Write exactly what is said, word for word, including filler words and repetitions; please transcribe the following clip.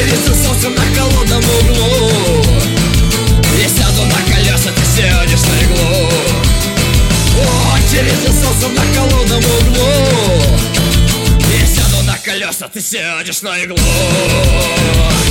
очередь за солнцем на холодном углу. Я сяду на колеса, ты сядешь на иглу. Очередь за солнцем на холодном углу. Я сяду на колеса, ты сядешь на иглу.